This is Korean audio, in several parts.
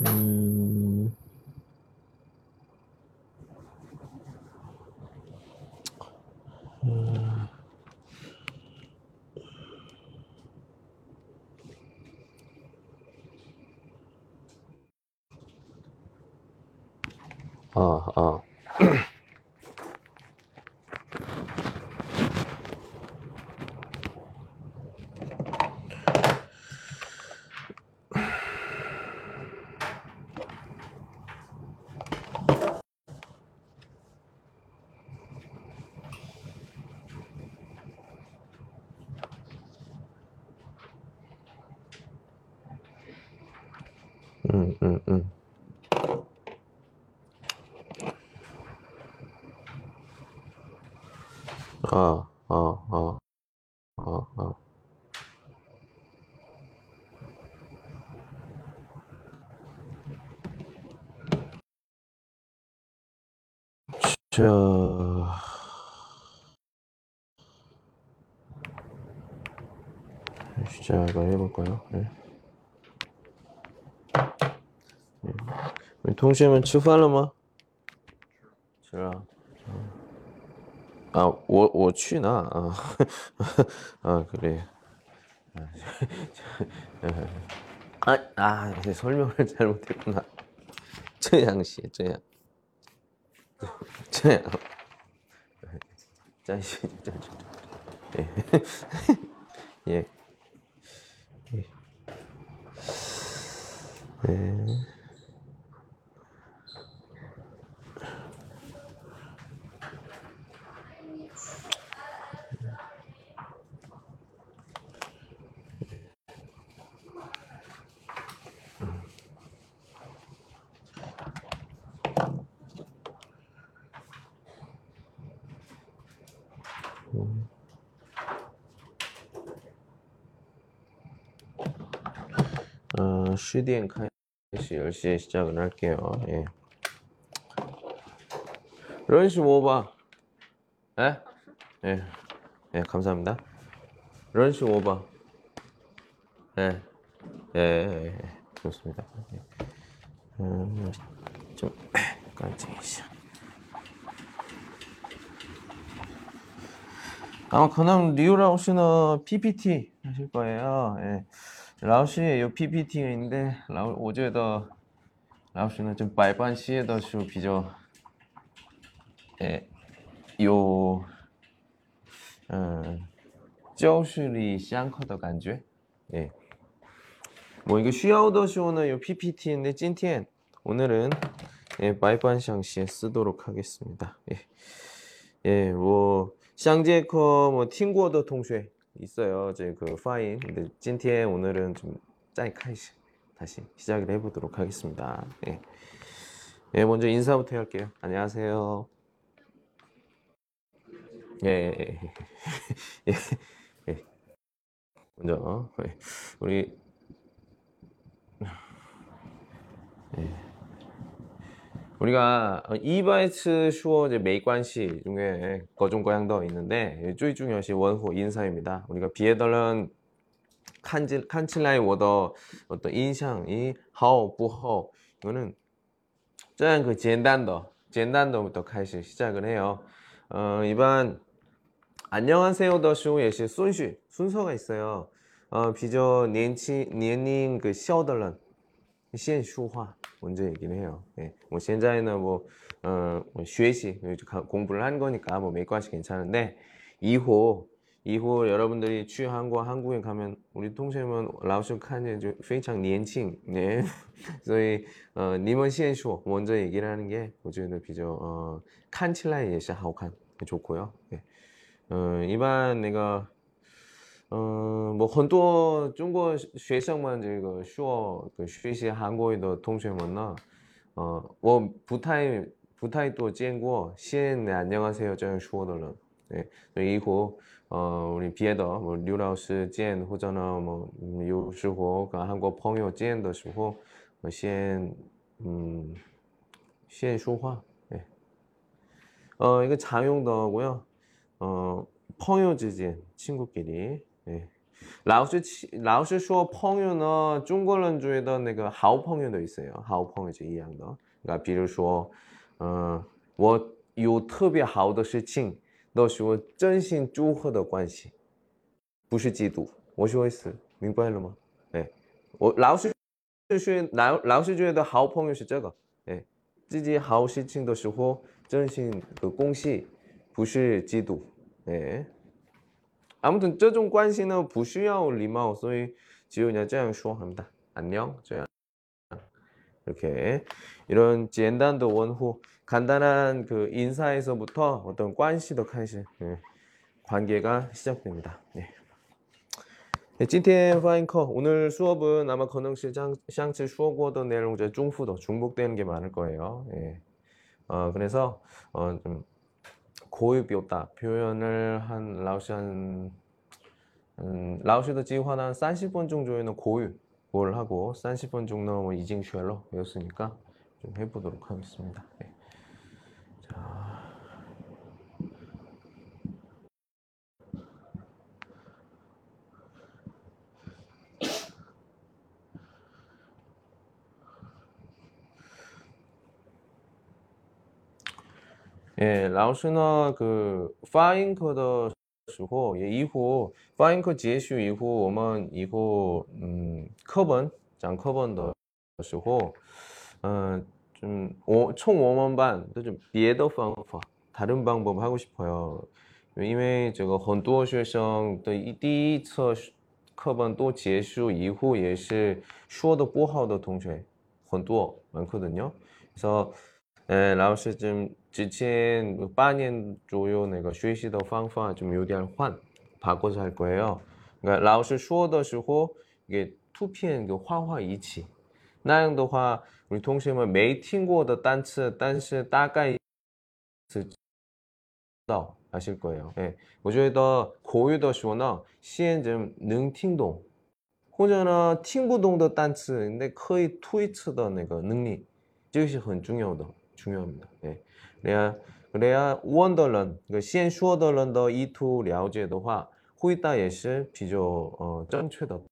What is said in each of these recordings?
음, 아, 아, 음, 음, 음. 아, 아, 아, 아, 아. 저, 시작을 해볼까요? 네.同学们吃饭了吗？吃了。啊，我去呢啊，아 그래. 이제 설명을 잘못했구나. 这样写，这样，예, 예. 시디엔开始 10시에 시작을 할게요. 예. 런시 오바. 예? 예. 예, 감사합니다. 런시 오바. 예. 예, 예, 예. 좋습니다. 예. 좀 깜짝이야. 아마 그냥 리우 라오스는 PPT 하실 거예요. 예. 라오스의 요 PPT가 있는데 어제도 라오스는 좀 발반 시에도 주 비교 예. 요教室里相课的感觉 예. 뭐 이거 쉬어더쇼는 요 PPT인데 今天 오늘은 예, 바이반샹시에 쓰도록 하겠습니다. 예. 예, 뭐 샹제커 뭐 팅구어더 통쉐 있어요. 제 그 파인. 근데 今天 오늘은 좀 짜이카이시 다시 시작을 해보도록 하겠습니다. 예. 예, 먼저 인사부터 할게요. 안녕하세요. 예, 예, 예, 예. 먼저 예. 우리 우리가 이바이츠 슈어 이제 메이관시 중에 거종거양더 있는데 쪼이 중요시 원호 인사입니다. 우리가 비에덜런 칸칠라이 워더 어떤 인상이 하오 부허 이거는 짠 그 젠단더부터开始 시작을 해요. 이반 안녕하세요 더쇼 예시 순시 순서가 있어요. 비저年龄 그 셔덜런 现书化 먼저 얘기를 해요. 예. 뭐 현재는 뭐, 뭐学习 공부를 한 거니까 뭐 매과시 괜찮은데 이후 여러분들이 취한국 한국에 가면 우리 동생은 라오스 칸이 非常年轻 네. 所以你们先说 먼저 얘기를 하는 게我觉得 비교 看起来也是好看 좋고요. 예. 일반 내가 么很多中国学生们这个说学习韩国语的同学们呢，我不太多见过先안녕하세요这样说的人，对，所以以后우리别的뭐刘老师见或者呢뭐有时候跟韩国朋友见的时候，先先说话，네. 이거常用的고요. 朋友之间친구끼리 예. 老师说朋友呢，中国人觉得那个好朋友都있어요。好朋友是一样的。那比如说，我有特别好的事情，都是我真心祝贺的关系，不是嫉妒。我说意思，明白了吗？哎，我老师觉得好朋友是这个，哎，自己好事情的时候真心的恭喜，不是嫉妒。哎，아무튼这种关系呢不需要礼貌，所以只有그냥这样说합니다。 안녕这样。 이렇게 이런 简单的 원호, 간단한 그 인사에서부터 어떤 관시도开始, 관계가 시작됩니다. 네. 네, 今天发音课 오늘 수업은 아마 可能是上次说过的内容在重复的 중복되는 게 많을 거예요. 예. 그래서 좀 고유表达 표현을 한 라오시 라오시의 计划한 30분 정도에는 고유를 하고 30분 정도 이징쉐로 배웠으니까 좀 해보도록 하겠습니다. 네. 자. 예, 라오스는 그 파인科的时候也以后파인科结束以后我们以后课本讲课本的时候좀 총 5만班 좀 别的方法 다른 방법 하고 싶어요. 因为这个很多学生的第一次课本都结束以后也是说的不好的同学很多많거든요. 그래서 老师좀之前半年左右那个学习的方法좀有点换 바꿔서 할 거예요. 그러니까 老师说的时候 이게图片그画一起那样的话 우리 동생们没听过的单词但是大概知道 아실 거예요. 예. 我觉得口语的时候呢先좀能听懂或者呢听不懂的单词근데可以推测的那个能力这个是很重要的 중요합니다. 예. 그래야 问的人先说的人的意图了解的话回答也是比较正确的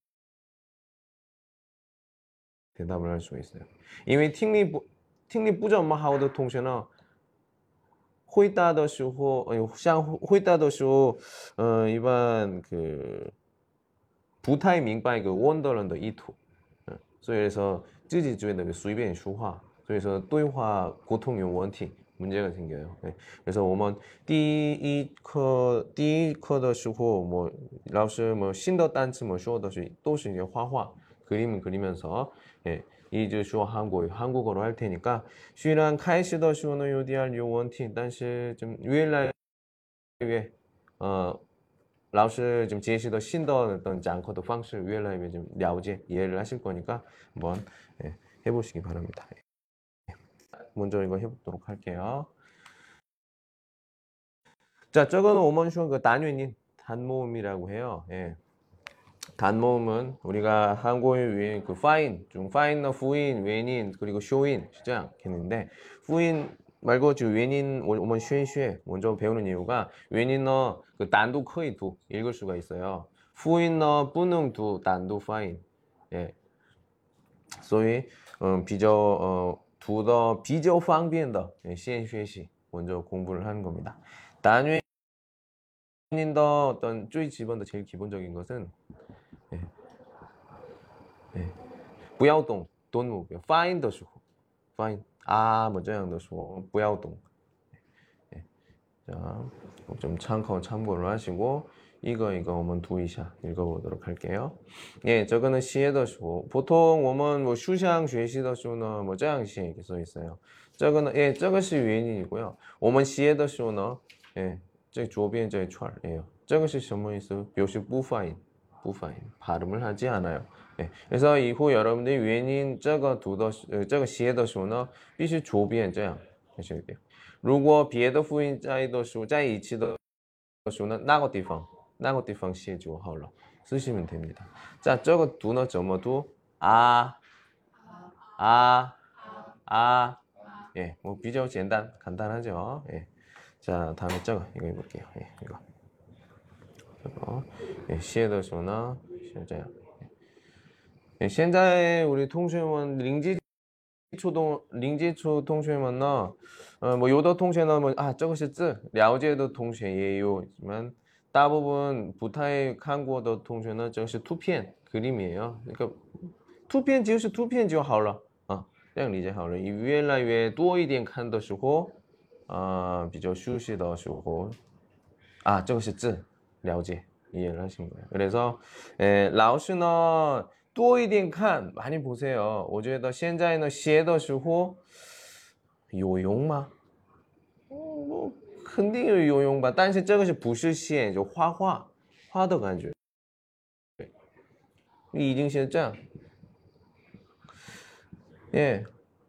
대답을 할 수 있어요. 因为听力不怎么好的同学呢回答的时候像回答的时候一般그不太明白그问的人的意图所以그래서自己觉得随便说话所以说对话沟通有问题 문제가 생겨요. 네. 그래서 我们第一课的时候뭐 老师뭐新的单词뭐说的是都是이제画 그림을 그리면서 예, 이제 说 한국어로 할 테니까 虽然开始的时候呢有点有问题但是좀越来越老师좀 제시도 신더 어떤讲课的方式越来越좀了解 이해를 하실 거니까 한번 예, 해보시기 바랍니다. 먼저 이거 해보도록 할게요. 자, 저거는 오먼슈 그 단위인 단모음이라고 해요. 예. 단모음은 우리가 한국어 위에 그 파인, 중 파인너 후인, 웬인 그리고 쇼인 시장 했는데 후인 말고 지금 웬인 오먼 슈슈 먼저 배우는 이유가 웬인너 그 단도 커이 두 읽을 수가 있어요. 후인너 뿌능 두 단도 파인. 예. 所以比较方便的先学习 먼저 공부를 하는 겁니다. 단위인의 어떤最 기본的 제일 기본적인 것은 예, 예, 不要动动目标 find 的时候 find 뭐这样的说不要动 예, 자, 좀 참고를 하시고 이거 我们读一下 읽어보도록 할게요. 예, 저거는 시에더 수. 보통 我们뭐 슈샹 学习的 수는 뭐 这样写 이렇게 써 있어요. 저거는 예, 这个是原因이고요. 我们写的 수는 예, 这左边这一串예요. 这个是什么意思? 表示不发音 발음을 하지 않아요. 예, 그래서 이후 여러분들이原因 这个读的这个写的 수는 必须左边这样 하셔야 돼요. 如果别的辅音在的时候在一起的时候呢那个地方写就好了 쓰시면 됩니다. 자, 저거 두는 怎么读? 예, 뭐 비교 간단하죠. 예. 자, 다음에 저거 이거 해볼게요. 예, 이거. 예, 시에的时候呢是这样。现在我的同学们零基础同学们呢，뭐有的同学呢뭐这个是字，了解的同学也有，지만大部分不太看过的同学呢，这是图片그림이에요。那个图片就是图片就好了啊，这样理解好了。越来越多一点看的时候，比较熟悉的时候，这个是字，了解이해를 하신 거예요. 그래서 라오师呢多一点看 많이 보세요. 我觉得现在呢写的时候有用吗？뭐肯定有用吧，但是这个是不是写就画的感觉，已经是这样。예,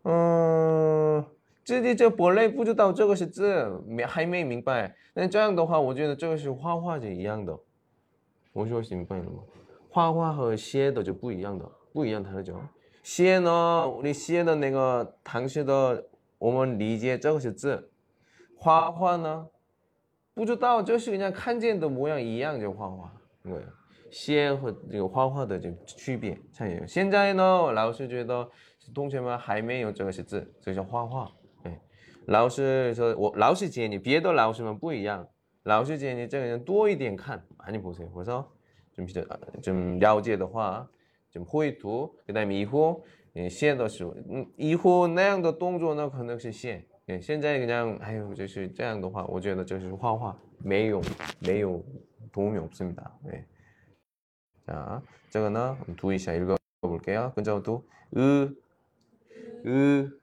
自己这本来不知道这个是字，还没明白。那这样的话，我觉得这个是画画是一样的。我说明白了吗？画画和写的就不一样的，不一样다르죠。写呢，你写的那个唐诗的，我们理解这个是字。画画呢，不知道，就是人家看见的模样一样就画画。对，写和这个画画的这区别差异。现在呢，老师觉得同学们还没有这个是字，这叫画画。哎，老师说，老师建议别的老师们不一样。老师建议这个人多一点看，많이 보세요. 그래서 좀了解的话，좀绘图， 그다음에 이후写的时候，이후那样的动作呢，可能是写。现在그냥就是这样的话，我觉得这是画画，没有도움이 없습니다. 네. 자, 这个呢, 두이샤 읽어볼게요. 근자부터 으,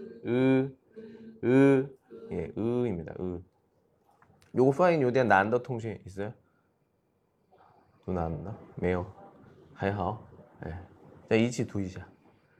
예, 으입니다. 요거 파인 요点难的同学 있어요? 读难的没有？还好。哎，再一起读一下。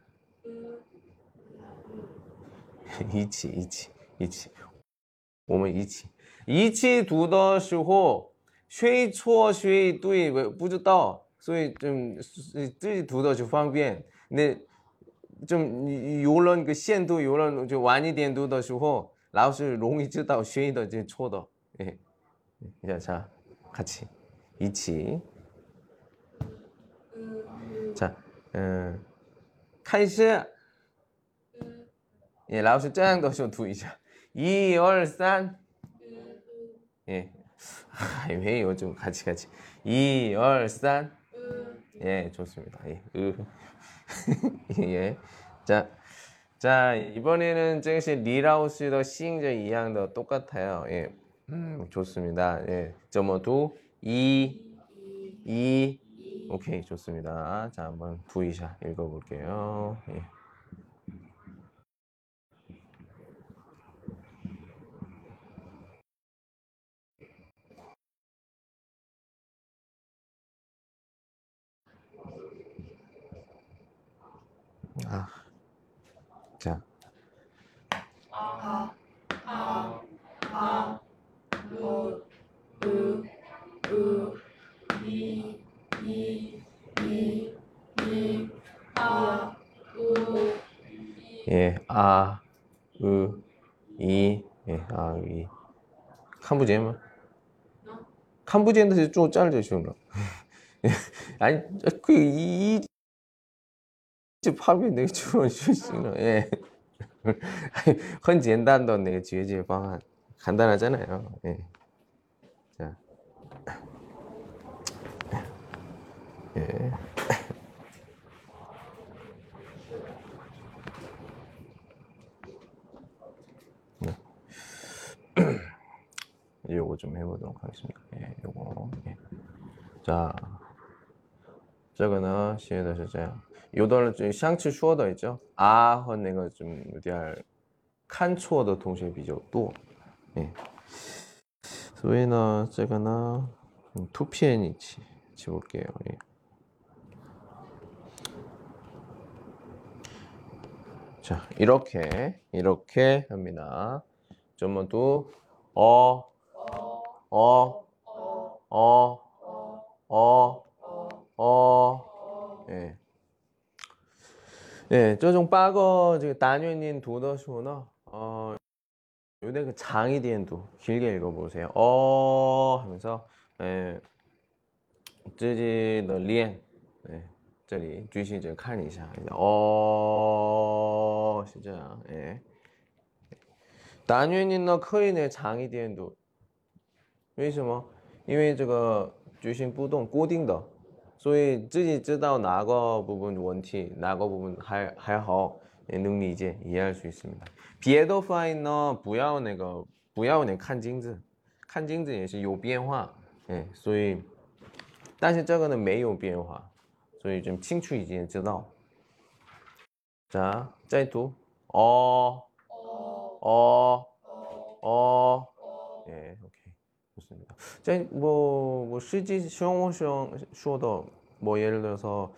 一起，我们一起读的时候，谁错谁对不知道，所以自己读的就方便。那有人个限度，有人就晚一点读的时候，老师容易知道谁的这错的。哎，자 같이一起。자，开始。예，老师这样的时候读一下，1、2、3。예，还没有좀 같이 1、2、3。 예， 좋습니다. 예, 예. 자, 이번에는这个是 리라우스의 싱저 이양도 똑같아요. 예, 좋습니다. 예, 점어 두, 2. 오케이, 좋습니다. 자, 한번 두이샤 읽어볼게요. 예. 자. 예, 이, 예, 이. 캄부제마. 캄부제인데 좀 짧으시구나. 아니, 이 파비 내가 주원 쉬시는, 예. 很简单的那个解决方案， 간단하잖아요. 예. 자, 예. 요거 좀 해보도록 하겠습니다. 예, 요거. 예. 자, 这个呢写的是这样，有的人相似说的있죠， 和那个좀有点看错的同学比较多，所以呢，这个呢，图片一起볼게요。 자, 이렇게 합니다. 전부 예. 예, 这种8个这个单元音读的时候呢，有点그 장이点读 길게 읽어보세요. 하면서 예, 自己的练，哎，这里继续着看一下，哦，是这样，哎，单元音呢可以呢长一点读，为什么？因为这个句型不动固定的，所以自己知道哪个部分问题，哪个部分还好，也能理解이해할 수 있습니다。别的发音呢，不要看镜子，看镜子也是有变化，哎，所以。但是这个呢没有变化，所以좀清楚一点知道。자，再读，哦，哦，哦，예，OK， 좋습니다。뭐 실제生活上说的，뭐 예를 들어서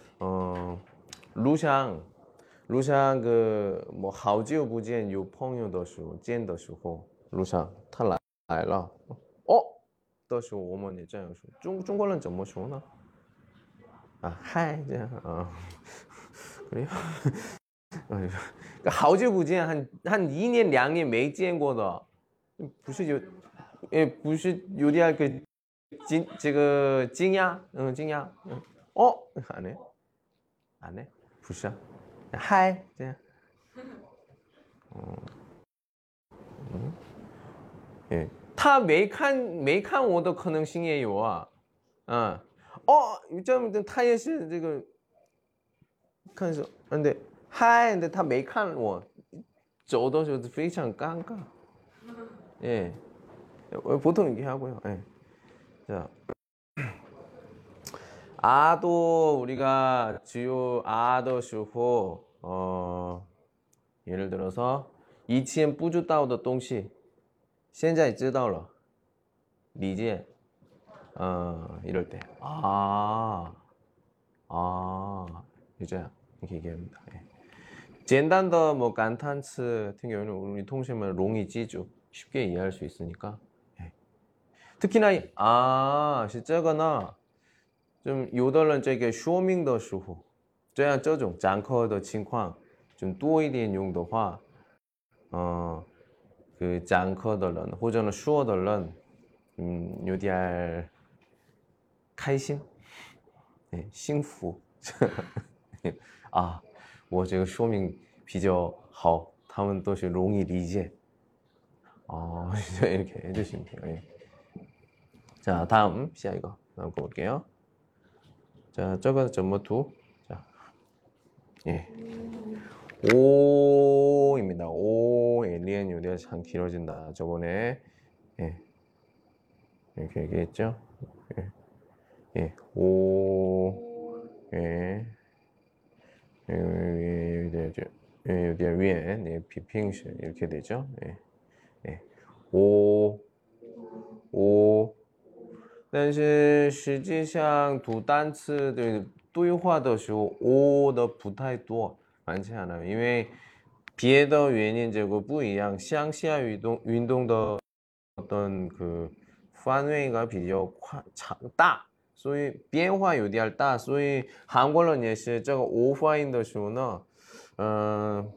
루샹 그好久不见有朋友的时候，见的时候，루샹他来了，哦的时候我们也这样说。中国人怎么说呢？啊，嗨，这样啊，그래요？好久不见，한 1年 2年没见过的，不是有，也不是有点这个惊讶，惊讶，哦，안 해， 안 해， 不是啊，嗨，这样，예， 他没看我的可能性也有啊，这么他也是这个看是，对，嗨，근데他没看我，走的时候非常尴尬，예， 보통 이렇게 하고요. 예. 자, 아도 우리가 주요 아더 슈호 예를 들어서 以前不知道的东西现在知道了理解 이럴 때 이제 이렇게 얘기합니다. 예. 简单的뭐 간탄츠 같은 경우는 우리 통신만 롱이记住 쉽게 이해할 수 있으니까 예. 특히나 是这个呢좀 요덜은这个 쇼밍 的时候这样这种展开的情况좀多一点用的话그展开的人或者呢说的人有点开心幸福我这个说明比较好他们都是容易理解이렇게 해주시면 돼요. 자, 다음 시아 이거 다음 거 볼게요. 자, 저거 전부 두. 자, 예. 오입니다. 오, 리엔 요리가 참 길어진다. 저번에 예. 이렇게 얘기했죠. 예. 오, 예. 되죠. 예, 위에 네, 비핑시 이렇게 되죠. 예. 예. 오, 오. 但是实际上读单词对话的时候，o的不太多，蛮强的，因为别的原因这个不一样，乡下运动的 어떤 그范围가 比较大，所以变化有点大，所以韩国人也是这个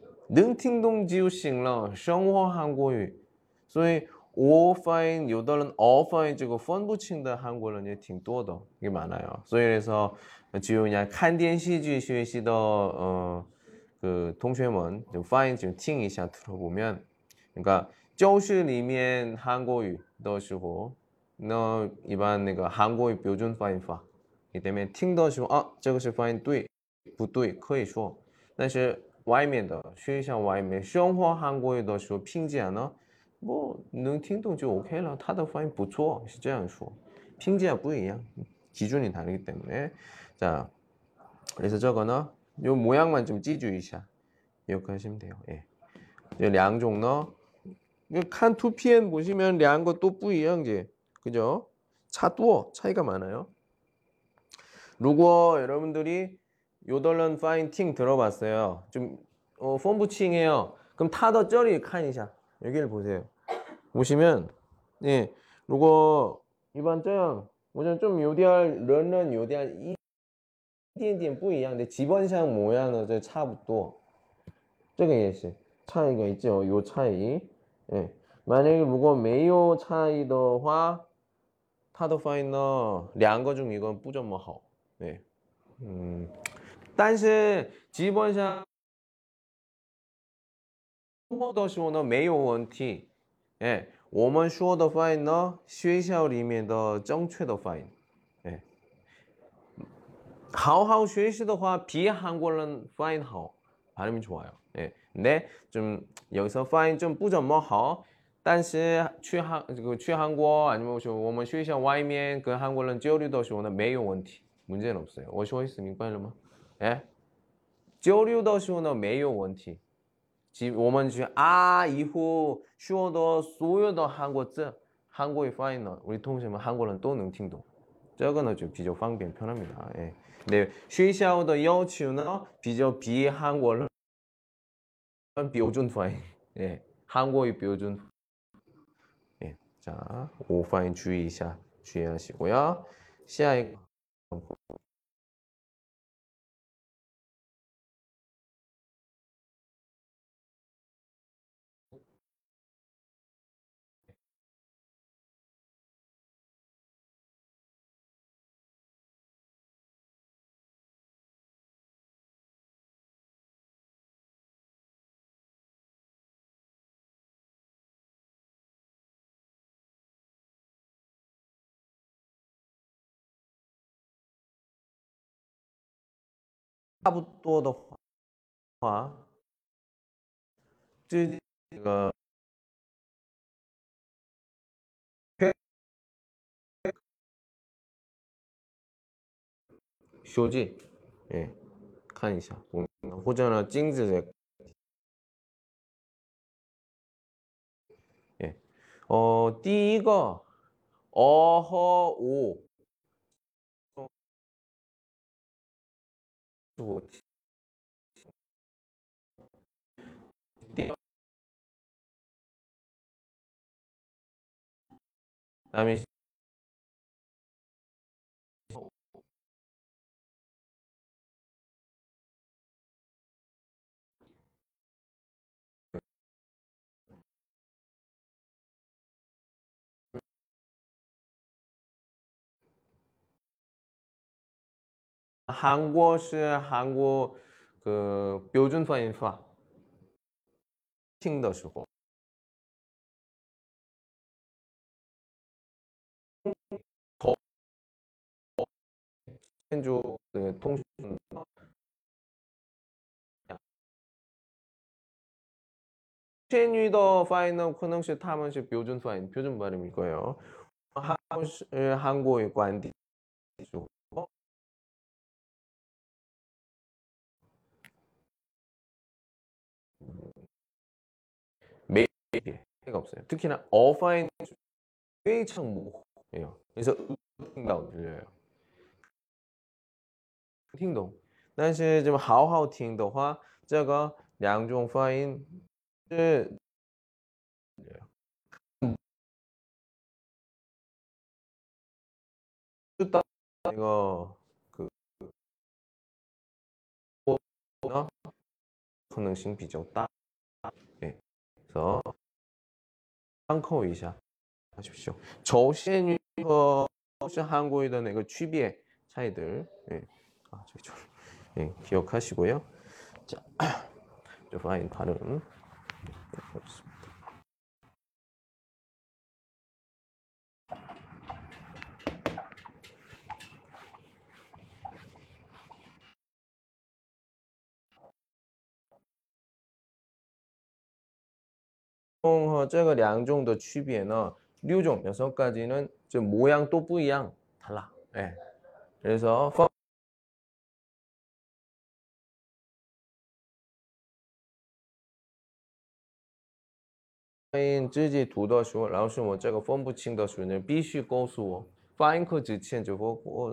오发音这个分不清的韩国人也挺多的，你买来啊，所以说只有你看电视剧学习的同学们就发音就听一下，들어보면，你看教室里面韩国语的时候，那一般那个韩国语标准发音法，你对面听的时候，这个是发音对不对？可以说，但是外面的学校外面生活韩国语的时候，拼起来呢，뭐能听懂就OK了，他的发音不错，是这样说。拼起来不一样，기준이 다르기 때문에. 자, 그래서 저거는 요 모양만 좀记住一下， 기억하시면 돼요. 예. 两种呢，看图片 보시면 两个都不一样지 그죠? 차이가 많아요. 如果 여러분들이 요덜런 파인팅 들어봤어요. 좀 폼부칭해요. 그럼 타더 쩌리 칸이샤. 여기를 보세요. 보시면 예, 如果 이번 장 오전 좀 요디알 런런 요디알 一点点不一样的 기본상 모양은 차부터 这个也是 차이가 있죠. 요 차이. 예. 만약에 如果没有 차이的话它的发音呢，两个中一个不怎么好。对，但是基本上的时候呢没有问题。哎，我们说的发音呢，学校里面的正确的发音。哎，好好学习的话，比韩国人发音好，발음이 좋아요. 예. 근데 좀 여기서发音좀不怎么好，但是去韩国아니면说我们学校外面跟韩国人交流的时候呢，没有问题， 문제는 없어요. 我说意思明白了吗？哎，交流的时候呢没有问题。我们去以后学的所有的韩国字、韩国语发音呢， 우리 동생们韩国人都能听懂，这个呢就比较方便편합니다. 예. 네, 学校的要求呢比较比韩国人标准发音. 예, 한국의标准. 예, 자, 我发音注意一下，주의하시고요. 下一个差不多的话，这个修记, 예, 看一下，或者呢镜子的 예. 第一个和오 그다음에 한국是韩国그标准发音法听的时候就通讯天语的发音呢可能是他们是标准发音标准발음일 거예요. 한국의 관디 매일 해가 없어요. 특히나 어파인 非常模糊예요. 그래서 听到 들려요. 听懂但是좀好好听的话这个两种发音是이거 그可能性比较大. 네. 그래서 참고一下 하십시오. 저시엔유和 한국어의 那个 区别 차이들. 예. 저기 예, 기억하시고요. 자, 저 파인 발음. 어, 这个两种的区别呢, 6종, 6가지는 좀 모양도 不一样, 달라. 예. 그래서发音自己读的时候，老师我这个分不清的时候呢，必须告诉我，发音课之前就我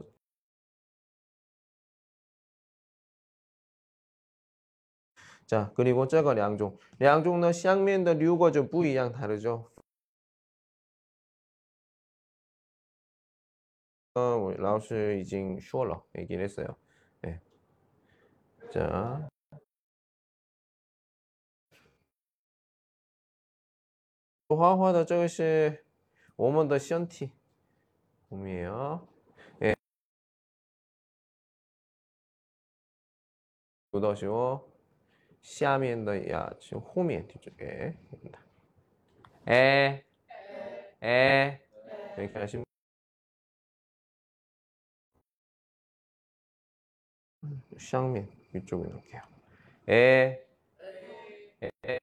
자, 그리고 这个 两种, 两种呢, 下面的6个 좀 不一样, 다르죠? 老师已经说了, 얘기를 했어요. 네. 자, 画画的这个是我们的身体 홈이에요. 예. 读到说下面的牙就后面뒤쪽에 에, 에 이렇게 하시면 上面 위쪽에 놓을게요. 에, 에,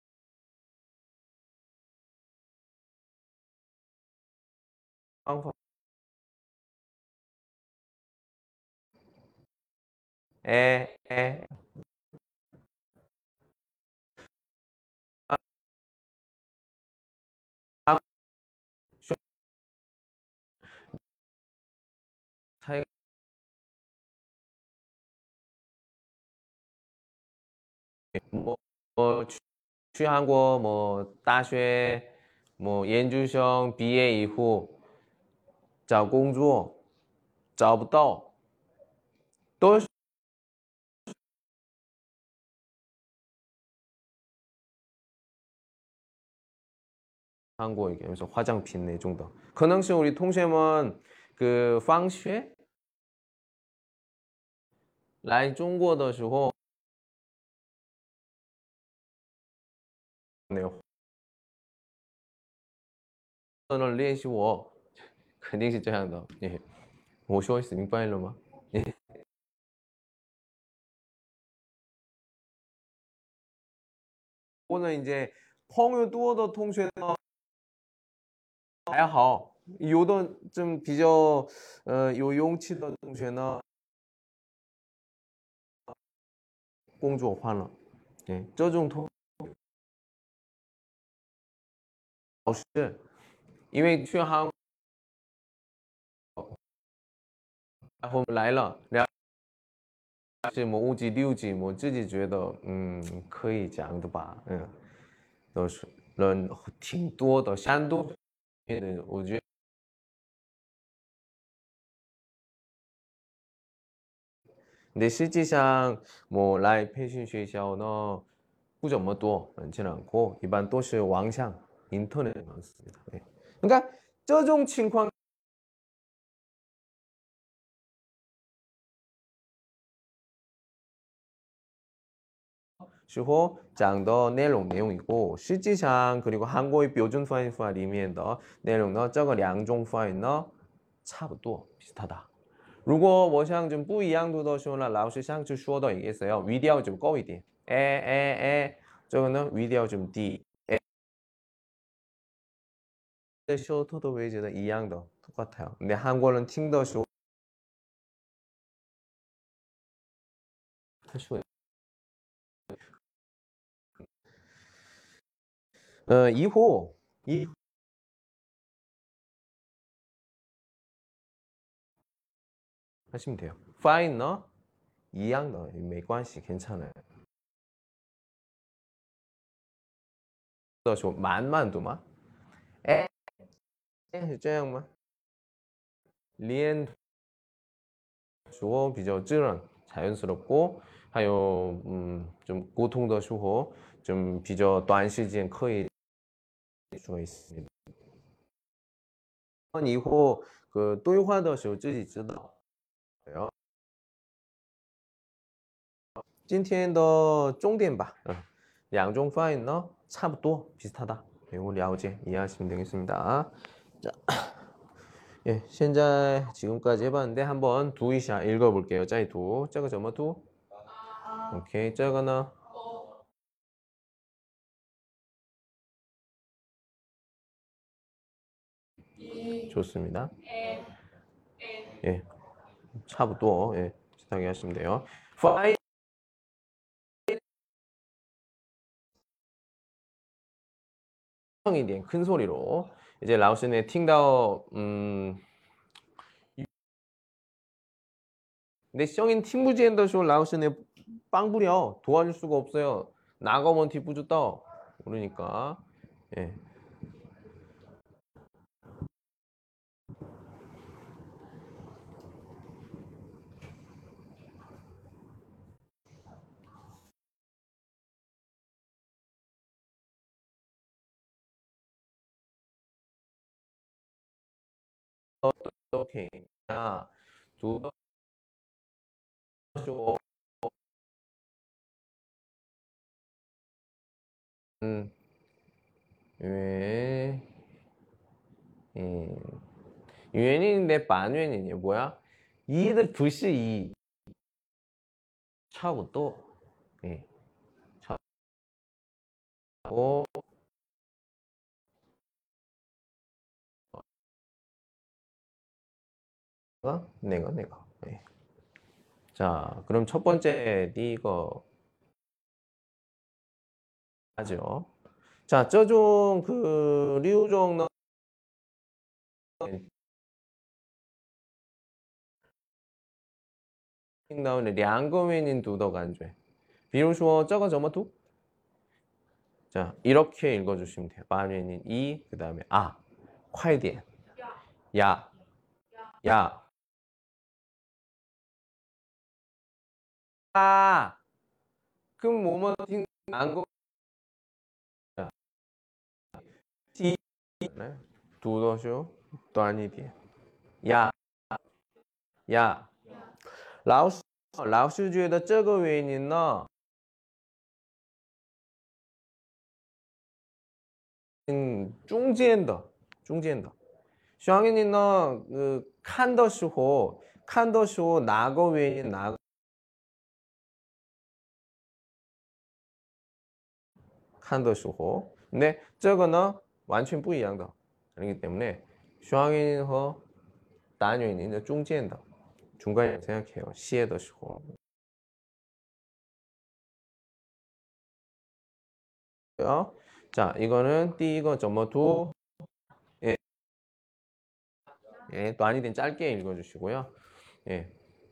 방법 에, 아, 차이가 뭐, 뭐去韩国 뭐 大学 뭐 研究生毕业以后找工作找不到，都是韩国얘기하면서 화장품 那种的，可能是 우리 동생은 그 放学来中国的时候，那个练习我肯定是这样的。예. 我说是明白了吗？ 예. 或者 이제 朋友多的同学呢还好，有的좀比较有勇气的同学呢， 工作换了， 예. 这种老师因为去韩国来了，是么5级6级，我自己觉得可以讲的吧，都是人挺多的，山东我觉得근데 실질상 뭐来培训学校呢不怎么多，많지는 않고 일반 都是网上인터넷 많습니다. 네. 그러니까 这种情况时候讲的内容이고 실질상 그리고 한국의标准 发音法 里面的内容呢，这个两种发音呢差不多 비슷하다. 如果我想좀不一样的时候呢，老师上次说的也是要语调좀高一点，这个呢语调좀低，셔터도 웨이즈는 一样的 똑같아요. 근데 한국어는 听的时候 이후 하시면 돼요. fine 呢一样的没关系 괜찮아요. 的时候慢慢读嘛， 是这样吗？连说比较自然자연스럽고 还有좀沟通的时候좀比较短时间可以说있습니다. 이후 그对话的时候自己知道。今天的重点吧，两种发音呢差不多비슷하다. 매우 了解 이해하시면 되겠습니다. 자, 예, 现在 지금까지 해봤는데 한번读一下 읽어볼게요. 再读这个怎么读？ 오케이, 这个呢？ 좋습니다. 예, 差不多 예, 비슷하게 하시면 돼요. 파이一点큰 소리로 이제 라오스네 팅다오 근데 성인 팀부지엔더쇼 라오스네 빵 부려 도와줄 수가 없어요. 나가면 뒤부주다 그러니까 예. 오케이. 자, 두더 쇼. 왜, 유엔인인데 반유엔이냐 뭐야? 이들 부시 이 차고 또 예. 차고 내가 예. 자, 그럼 첫 번째 이거 하죠. 자, 这种그六种呢 나오네两个原因读的感觉比如说这个怎么读 자, 이렇게 읽어주시면 돼요. 반유인 이, 그 다음에 아, 快点 야, 야, 아, 그럼 뭐뭐 안 거, 이, 두더쇼, 또 아니디. 야, 야, 老师觉得这个原因呢 中间的 샹이는 그看的时候 나거原因 나거 看的时候 근데 这个呢 完全不一样的 그렇기 때문에 샹이는和 단유인은 中间的 중간에 생각해요. 시에더 시고. 자, 이거는 띠一个 점머두 예. 예, 또 아니든 짧게 읽어주시고요. 예.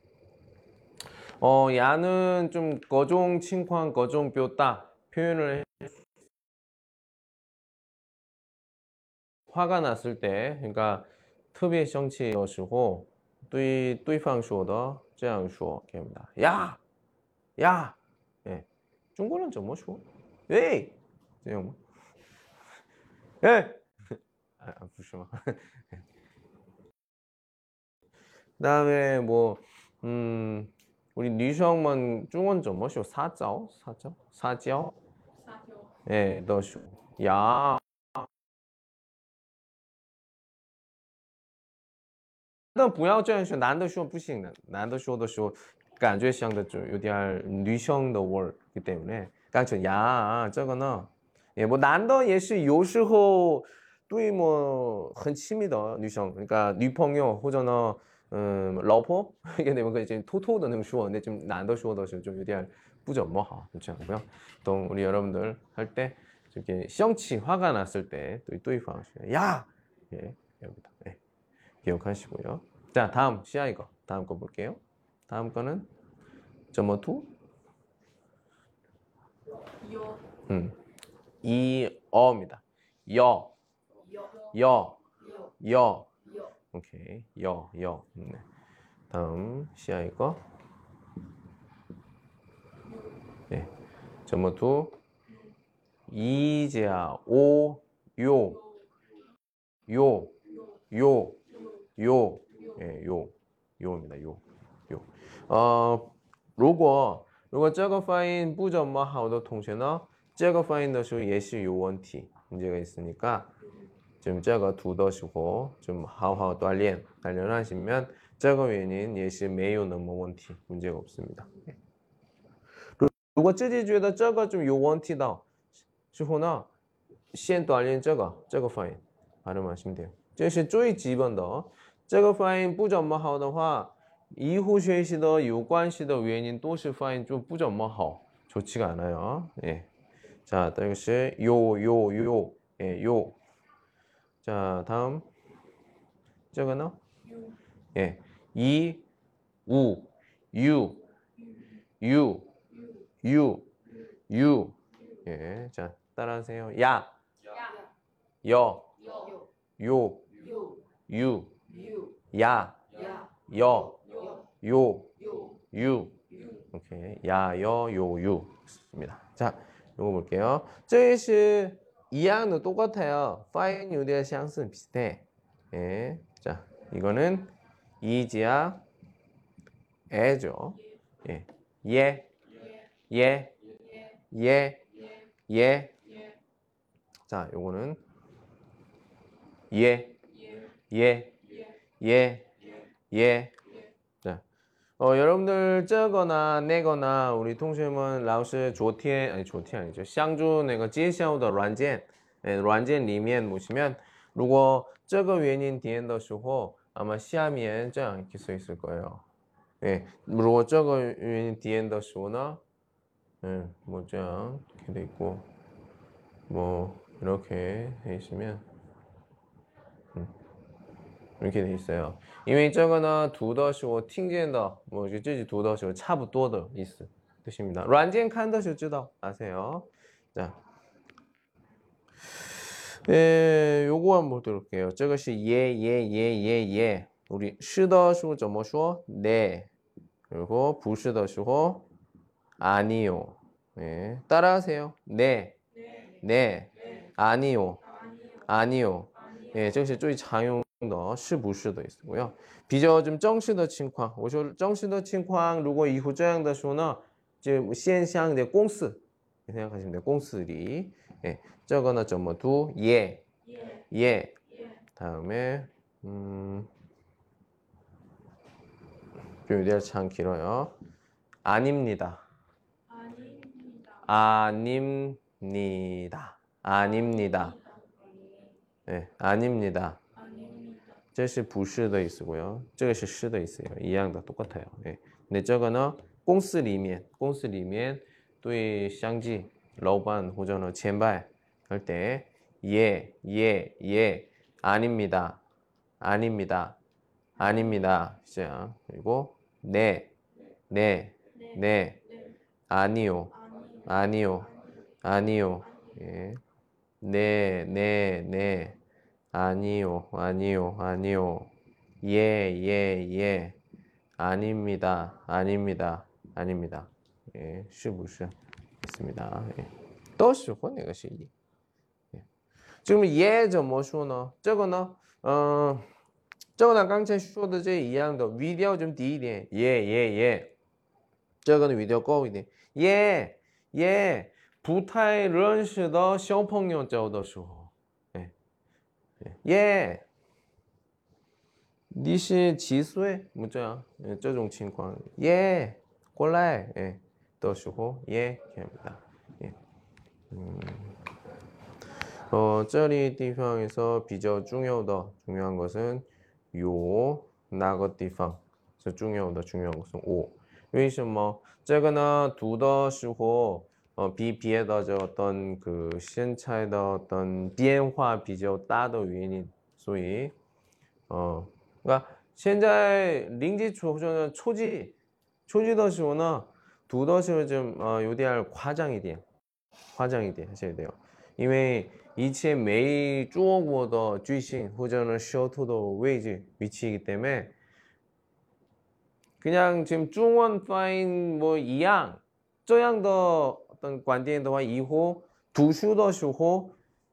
야는 좀 거종 칭황 거종 뼈다 표현을 화가 났을 때, 그러니까 特别生气的时候 对方说的这样说 됩니다. 야! 야! 예. 중국어는 怎么说? 에이! 这样吗? 예! 아, 不是吗? 그다음에 뭐 우리女生们 중원 怎么说? 사자오? 사자오? 사자오? 예, 的说. 야! 但不要这样说，男的说不行的，男的说的时候感觉像的就有点女生的味儿기 때문에干脆呀，这个呢，也뭐男的也是有时候对뭐很亲密的女生， 그러니까女朋友或者呢，老婆이게 되면 이제 토토도能说， 근데 좀男的说的时候좀有点不怎么好，그렇지 않고요. 또 우리 여러분들 할 때 이렇게 성치 화가 났을 때 또对方야, 예, 여기다. 예. 기억하시고요. 자, 다음 시아 이거 다음 거 볼게요. 다음 거는 점어투 이어입니다. 여, 여. 오케이, 여. 네. 다음 시아 이거. 네, 점어투 이제야 오, 요. 예, 요입니다. 요. 如果这个发音不怎么好的同学呢，这个发音的时候也是有问题 문제가 있으니까 좀这个 두더시고 좀 好好锻炼단련하시면 这个原因也是没有那么问题 문제가 없습니다. 如果自己觉得这个좀有问题的时候呢，先锻炼这个发音 발음하시면 돼요. 这是最基本的，这个发音不怎么好的话，以后学习的有关系的原因都是发音좀不怎么好， 좋지가 않아요. 예. 자, 이것이 요. 예, 요. 자, 다음. 这个呢? 예. 이, 우, 유. 예. 자, 따라하세요. 야. 여. 요. 유. 야. 여. 요. 유. 오케이. 야, 여, 요, 유. 좋습니다. 자, 이거 볼게요. 这是一样的 똑같아요. 파인 유대相似 비슷해. 예. 자, 이거는 이지야 애죠. 예. 예. 예. 예. 예. 자, 요거는 예. 예. 예. 예. 자. 여러분들 这个呢 那个呢 우리 동学们 老师昨天 아니 昨天 아니죠. 上周那个介绍的软件软件里面보시면 如果这个原因点的时候 아마 下面这样이렇게 써 있을 거예요. 예. 如果这个原因点的时候呢 예, 뭐这样이렇게 돼 있고 뭐 이렇게 돼 있으면 이렇게 돼 있어요. 因为这个呢读的时候听见的뭐自己读的时候差不多的意思 뜻입니다. 软件看的时候知道 아세요? 자. 예, 요거 한번 보도록 할게요. 这个是 예, 예, 예, 예, 예. 우리 是的时候怎么说? 네. 그리고 不是的时候 아니요. 예. 따라하세요. 네. 네. 아니요. 아니요. 예, 这个是最常用的是不是的意思고요. 比较좀正式的情况我说正式的情况如果以后这样的时候呢就现象的公司 생각하시면 돼요. 公司里 예, 这个呢怎么读? 예. 예. 다음에 좀 유대할 참 길어요. 아닙니다. 아닙니다. 아닙니다. 네, 아닙니다. 这是不是的意思고요. 这个是是的意思一样的 똑같아요. 네. 근데 这个呢公司里面对相继老板或者呢前辈할 때 예, 예, 예, 아닙니다. 아닙니다. 아닙니다. 시작. 그리고 네, 네, 네, 아니요, 아니요, 아니요. 예. 네, 네, 네. 아니요, 아니요, 아니요. 예, 예, 예. 아닙니다, 아닙니다, 아닙니다. 예, 是不是 있습니다. 예. 都是或那个是一. 예. 지금 예 怎么说呢？这个呢，这个呢刚才说的这一样的语调좀低一点，예 예 예。这个呢语调高一点，예 예。不太认识的小朋友教的时候，哎，예，你是几岁？뭐这样，这种情况，예，过来，哎，的时候，예， 합니다。예， 这里地方에서比较중요한 것은 요那个地方是중요한 것은 오。为什么？这个呢读的时候。比别的这어떤 그 시차의 어떤变化比较大的原因，所以그러니까 现在零基础或者초기的时候呢，读的时候좀有点夸张一点하셔야 돼요. 因为以前没做过的句型或者呢舌头的위치이기 때문에 그냥 지금 중원发音뭐一样这样的어떤观点的话以后读书的时候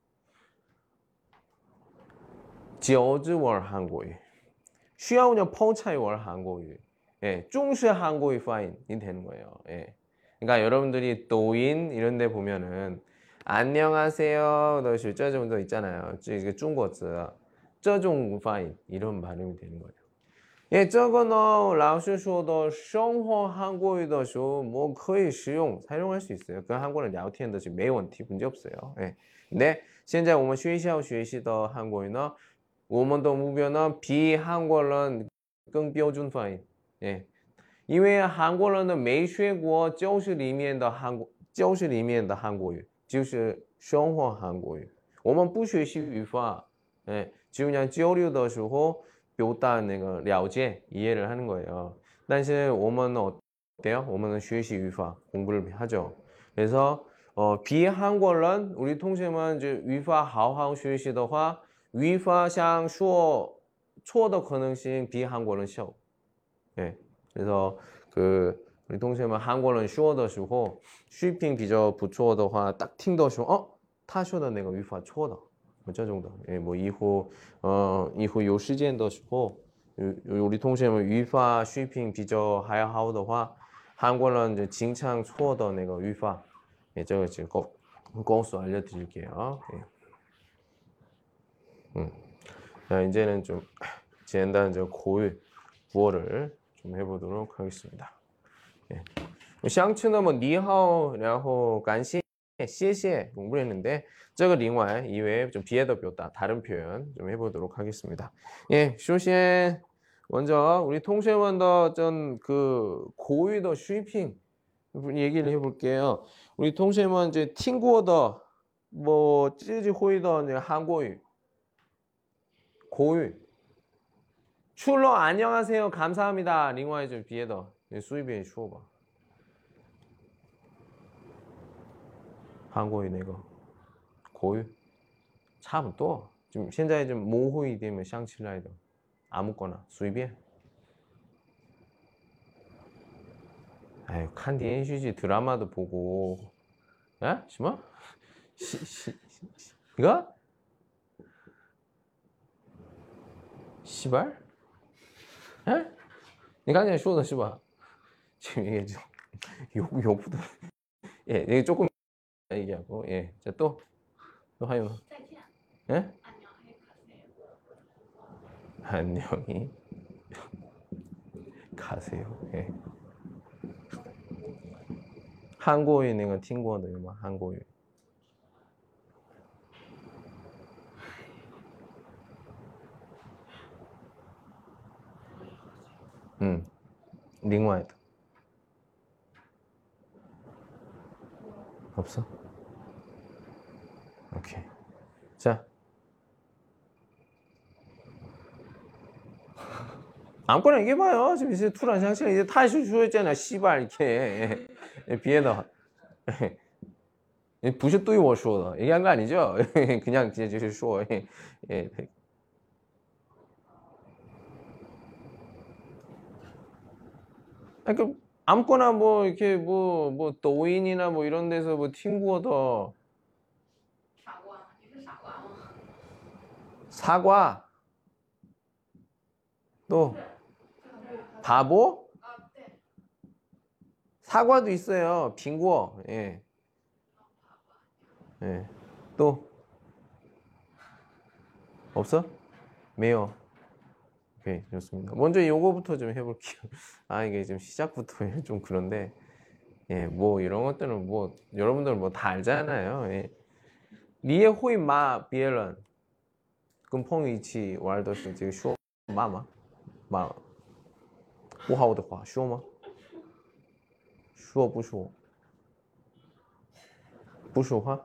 저즈월 한국어需要그냥 펑차이월 한국어 예, 중시 한국어 파인이 되는 거예요. 예. 그러니까 여러분들이抖音 이런 데 보면은 안녕하세요 더这种도 있잖아요. 이게 중국어 这种 파인 이런 발음이 되는 거예요. 예, 这个呢老师说的生活韩国语的时候뭐可以使用 사용할 수 있어요. 跟韩国人聊天的是没问题 문제 없어요. 예. 근데 现在我们学校学习的韩国语呢我们的目标呢比韩国人更标准发音 예. 因为韩国人呢没学过教室里面的韩国语就是生活韩国语我们不学习语法 예. 只그냥交流的时候表达那个了解 이해를 하는 거예요. 但是我们 어때요? 我们学习语法 공부를 하죠. 그래서 비한국어는 우리 동생们 语法好好学习的话语法上说错的可能性比韩国人小. 예. 그래서 그 우리 동생们 韩国人说的时候水平比较不错的话딱听的时候他说的那个语法错的. 这种的, 예, 뭐 이후 요时间的时候 우리 동시에语法水平比较还好的话，韩国人就经常错的那个语法，这个就公诉 알려드릴게요. 자, 이제는 좀简单 고유 부어를 좀 해보도록 하겠습니다. 相称的 니하오, 然后感谢, 谢谢 공부를 했는데 这个另外 이외에 좀别的表达 다른 표현 좀 해보도록 하겠습니다. 예, 首先 먼저 우리 통신원더 전그 고유의 슈이핑 얘기를 해볼게요. 우리 통신원 이제 팅구어더 뭐 찌지 호이더 한국어 고유 출러 안녕하세요 감사합니다. 링와이 좀 비에더 수입에 슈어봐. 한국어 내가 고유 참 또 지금 현재 좀 모호이 되면 샹칠라이더 아무거나 수입에 아유 칸디 NCG 드라마도 보고 야? 심어? 이거? 시발? 에? 니刚才说的是吧? 지금 이게 좀 욕부터 예, 이게 조금 얘기하고 예, 자 또 하요. 예? 안녕히 가세요. 예. 한국어에 내가 팅구어도 막 한국어. 링와이드 없어? 오케이. 자. 아무거나 얘기해봐요. 지금 이제 투란 상식 이제 타이슈 주었잖아. 씨발 이렇게 비에더 부시 뚜이 워쇼더 얘기한 거 아니죠? 그냥 이제 쇼. 예. 그러니까 아무거나 뭐 이렇게 뭐抖音이나 뭐 이런 데서 뭐 팅구어더 사과 또 바보? 사과도 있어요. 빙구어. 예. 예. 또 없어? 매요. 오케이, 좋습니다. 먼저 요거부터 좀 해볼게요. 아, 이게 지금 시작부터 좀 그런데, 예, 뭐 이런 것들은 뭐 여러분들 뭐 다 알잖아요. 예. 리에 호이 마 비엘런, 끈펑 이치 왈더스 지금 쇼 마마 마. 不好的话说吗？说不说？不说话？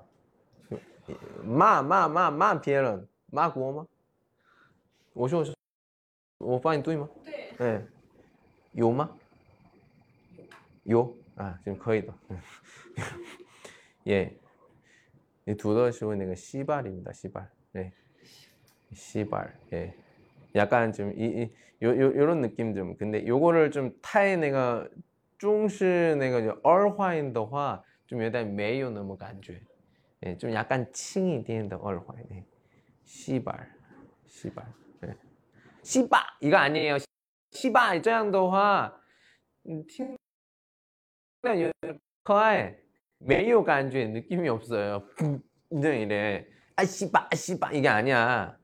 骂别人，骂国吗？我说我发音对吗？对。哎，有吗？有啊，지금可以的。예, 두 더시고 내가 시발입니다. 시발. 네, 시발. 예. 약간 좀 요런 느낌 좀. 근데 요거를 좀 타에 내가 中式那个儿化音的话就有点没有那么感觉，좀 약간轻一点的儿化音。시발, 시발, 시바 이거 아니에요. 시바 这样的话听有点可爱，没有感觉，느낌이 없어요. 이제 이래. 아 시바 시바 이게 아니야.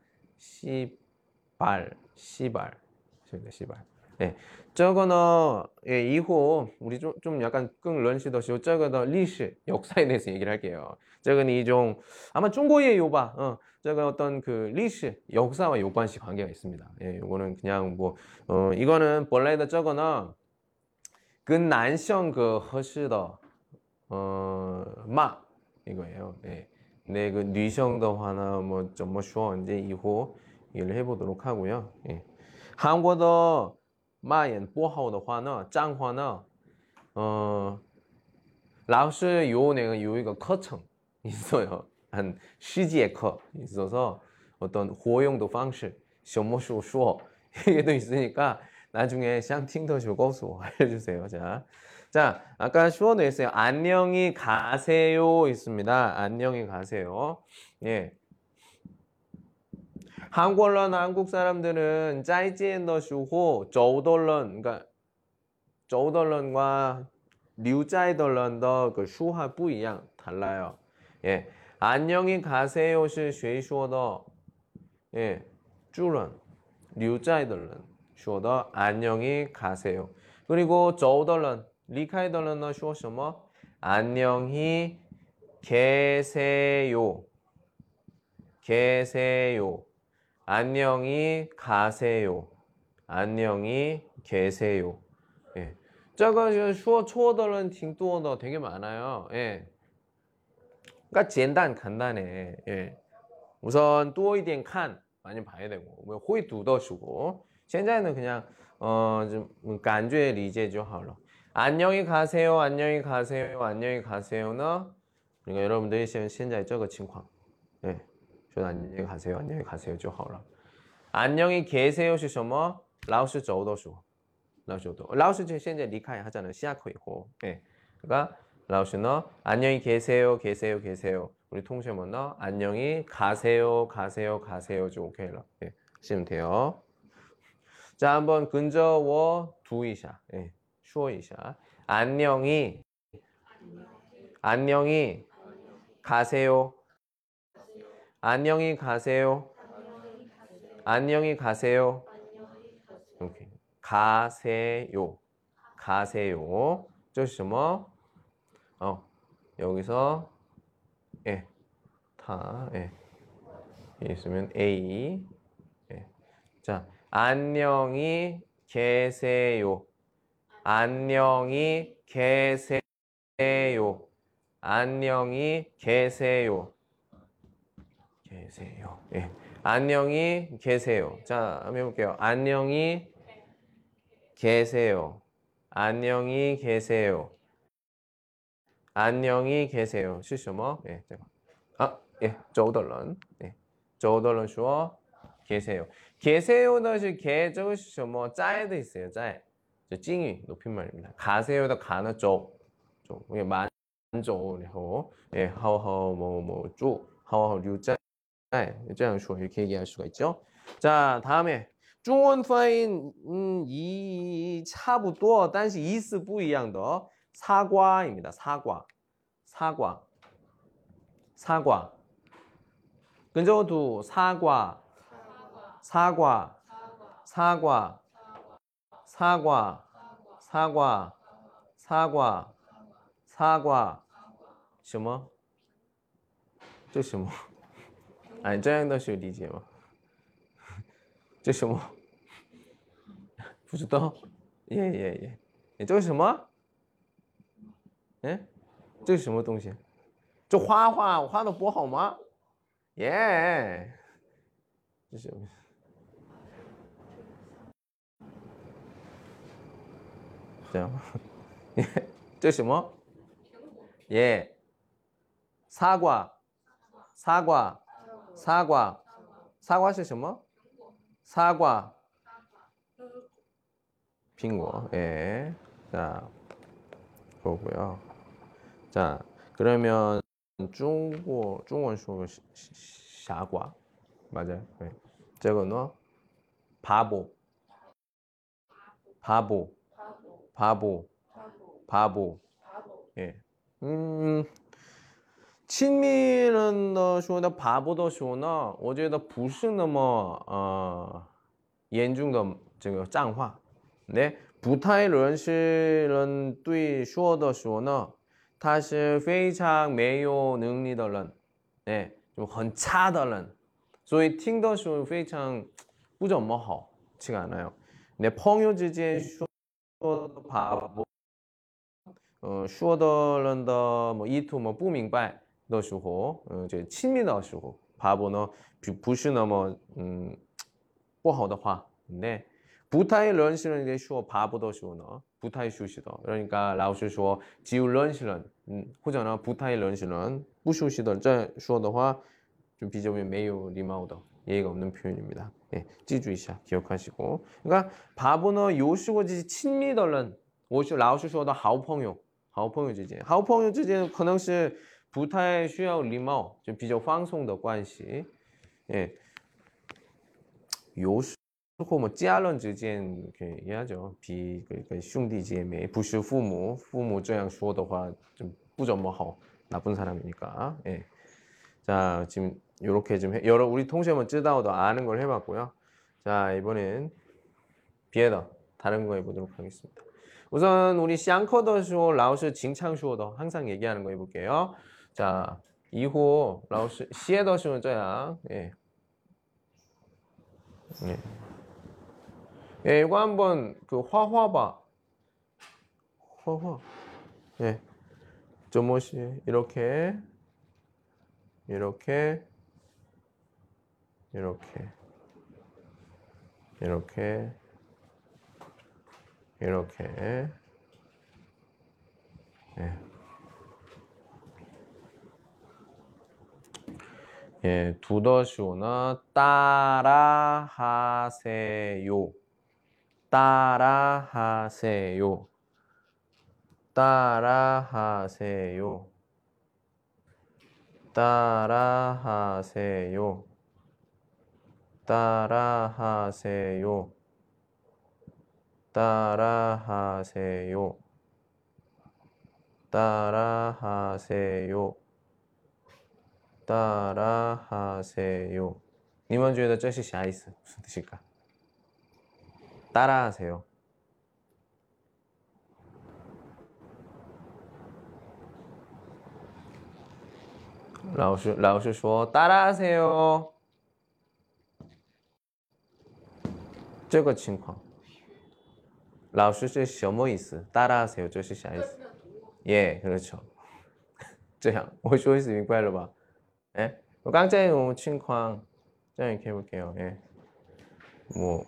시발 시발 시발. 네, 这个呢, 예, 이후 우리 좀 약간 끙 런시더시오. 这个的历史 역사에 대해서 얘기를 할게요. 这个이 좀 아마 중국의 요바, 这个 어떤 그历史 역사와 요관시 관계가 있습니다. 예, 이거는 그냥 뭐 이거는 본래의 这个呢跟男性그 合适的 마 이거예요. 예. 근데 그 女性的话呢, 뭐怎么说 이제 이후 얘기를 해보도록 하고요. 예. 한국어 骂人不好的话呢，脏话呢，老师有一个课程있어요. 한 10节课 있어서 어떤活用的方式, 什么时候说 이게 또 있으니까 나중에 샹팅더쇼 고수 알려주세요. 자, 아까 슈어도 했어요. 안녕히 가세요 있습니다. 안녕히 가세요. 예. 한국人, 한국 사람들은 再见的时候 周的人 그러니까 周的人과 留在的人的그 수화 不一样 달라요. 예. 안녕히 가세요 是谁说的? 예. 主人留在的人说的 안녕히 가세요. 그리고 走的人离开的人呢说什么? 안녕히 계세요. 계세요. 안녕히 가세요. 안녕히 계세요. 예. 这个说错的人挺多的 되게 많아요. 예. 그러니까 简单 간단해. 예. 우선 多一点看 많이 봐야 되고, 뭐会读的时候 现在呢 그냥 좀感觉理解就好了. 안녕히 가세요. 안녕히 가세요. 안녕히 가세요는 그러니까 여러분들이 现在这个情况. 예. 说 안녕히 가세요. 안녕히 가세요 就好了. 안녕히 계세요 是什么? 老师走的时候. 老师现在离开하잖아요. 下课以后. 예. 그러니까 老师呢 안녕히 계세요. 계세요. 계세요. 우리 통신문은 안녕히 가세요. 가세요. 가세요. 좀 오케이라. 예. 하시면 돼요. 자, 한번 근저워 두이샤. 예. 쉬어이샤. 안녕히 안녕히 가세요. 안녕히 가세요. 안녕히 가세요. 오케이. 가세요. 가세요. 这是什么? 여기서 예. 다 예. 있으면 A. 예. 자, 안녕히 계세요. 안녕히 계세요. 안녕히 계세요. 계세요. 예. 안녕히 계세요. 자, 한번 해볼게요. 안녕히 계세요. 안녕히 계세요. 안녕히 계세요. 是什么? 예, 예, 走的人. 예, 走的人说 계세요. 계세요는 是 개, 这个是什么? 在的있어요. 在. 찡이 높임말입니다. 가세요도 가는 쪽. 이게 만쪽, 然后 예, 好好뭐 쭉, 好好留在. 这样说 이렇게 얘기할 수가 있죠. 자, 다음에 中文发音差不多但是意思不一样的 사과입니다. 사과. 사과. 사과. 근저도 사과. 사과. 사과. 사과. 사과. 사과. 사과. 什么? 这什么? 哎，这样的是理解吗？这什么？不知道。耶，这是什么？哎，这是什么东西？这画的不好吗？耶，这是什么？这样吗？这是什么？耶，傻瓜，傻瓜。 사과. 사과 是什么? 사과. 빙고. 예. 자, 그거고요. 자, 그러면 중원 수어 사과. 맞아요. 네. 这个呢? 바보. 바보. 바보. 바보. 예. 亲密人的说的 바보的说呢我觉得不是那么严重的这个脏话 네, 不太认识人对说的说呢他是非常没有能力的人 네, 좀很差的人所以听的时候非常不怎么好치가 않아요. 네, 朋友之间说的 바보 说的人的뭐意图뭐不明白的时候，这亲密的时候，바보呢不是那么不好的话，네，不太认识人说바보的时候呢，不太熟悉的，그러니까老师说只有认识人，或者呢不太认识人，不熟悉的这说的话，좀比较没有礼貌的， 예의가 없는 표현입니다. 네, 记住一下, 기억하시고. 그러니까 바보는 有时候就是亲密的人，老师说的好朋友，好朋友之间，好朋友之间可能是不太需要礼貌，就比较放松的关系。예. 或뭐家人之间이렇게 얘기하죠.兄弟姐妹不是父母这样说的话좀不怎么好. 나쁜 사람이니까. 예. 자, 지금 요렇게 좀 여러 우리 통신은 쯔다오도 아는 걸 해봤고요. 자, 이번엔 비에더 다른 거 해보도록 하겠습니다. 우선 우리 샹커더쇼 라오스 징창쇼더 항상 얘기하는 거 해볼게요. 자, 이후 라오스 시에더쇼는 저야. 예. 예. 예, 이거 한번 그 화화. 예. 조모시 이렇게 이렇게 예. 예, 두더쇼나 따라하세요. 따라하세요. 따라하세요. 따라하세요. 따라하세요. 따라하세요. 따라하세요. 따라하세요. 你们觉得这是啥意思? 무슨 뜻일까? 따라하세요. 老师说 따라하세요. 这个情况老师是什么意思? 따라하세요. 这是啥意思? 예, 그렇죠. 这样我说意思明白了吧? 예? 깡짜이情况 자, 이렇게 해볼게요. 예. 뭐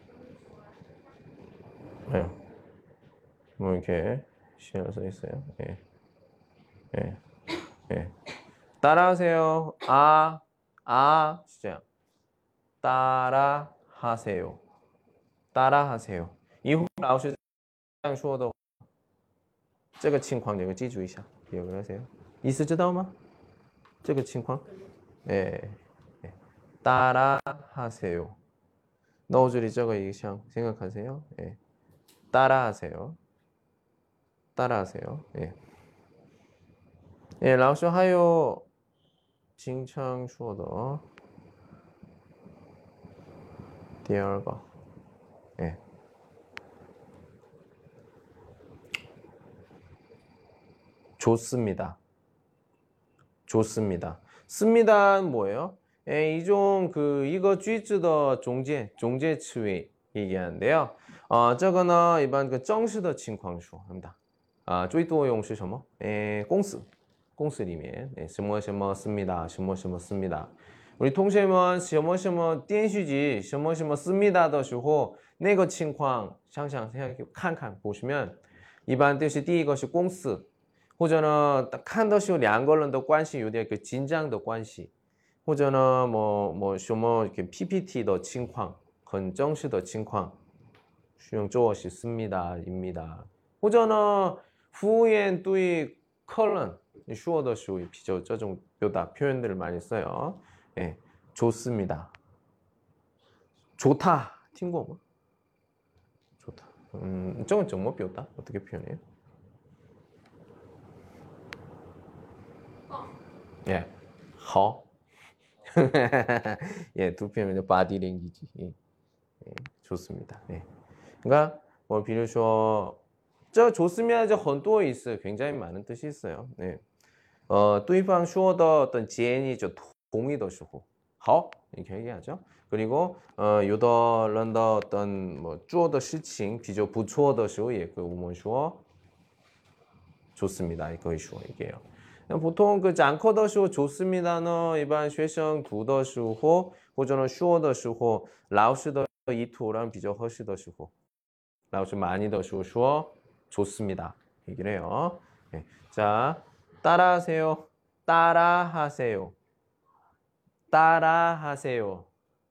이렇게 씌어서 있어요. 예. 예. 예. 따라하세요. 진짜. 따라하세요. 따라하세요. 이후 老师这样说的这个情况你们记住一下. 기억을 하세요. 意思知道吗?这个情况? 예. 예. 따라하세요. 넣어줄이 저거 이상 생각하세요. 예. 따라하세요. 따라하세요. 예. 예, 老师还有经常说的第二个 예. 좋습니다. 좋습니다. 씁니다는 뭐예요? 예, 이종 이거 句子的中间词尾 얘기하는데요. 这个呢一般正式的情况说합니다. 最多用是什么? 예, 公司里面 예, 什么什么 씁니다. 什么什么 씁니다. 우리 통신은 什么什么电视剧什么什么 씁니다 的时候那个情况想想看看 보시면 一般都是第一个是公司或者呢看的时候两个人的关系有点紧张的关系或者呢什么 PPT 的情况很正式的情况使用这是씁니다 입니다 或者呢服务员对客人说的时候比较这种表达 표현들을 많이 써요. 예, 좋습니다. 좋다. 听过吗? 좋다. 저건 좀 뭐表达? 어떻게 표현해요? 예, 好. 예, 두 표현은 body language. 예, 좋습니다. 예. 그러니까 뭐比如说这 좋습니다. 很多意思 굉장히 많은 뜻이 있어요. 네. 对方说的어떤建议就同意的时候好 이렇게 얘기하죠. 그리고 有的人的어떤做的事情比较不错的时候也可以我们说 좋습니다. 이거 얘기해요. 보통讲课的时候 좋습니다는 일반 学生读的时候或者说的时候老师的意图让比较合适的时候老师많이的时候说 좋습니다. 얘기를 해요. 네. 자, 따라하세요. 따라하세요. 따라하세요.